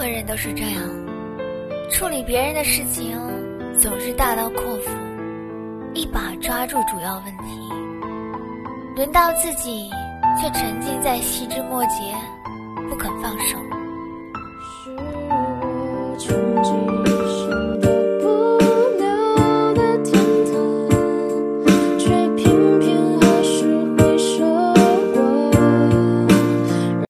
何人都是这样，处理别人的事情总是大刀阔斧，一把抓住主要问题，轮到自己却沉浸在细枝末节，不肯放手。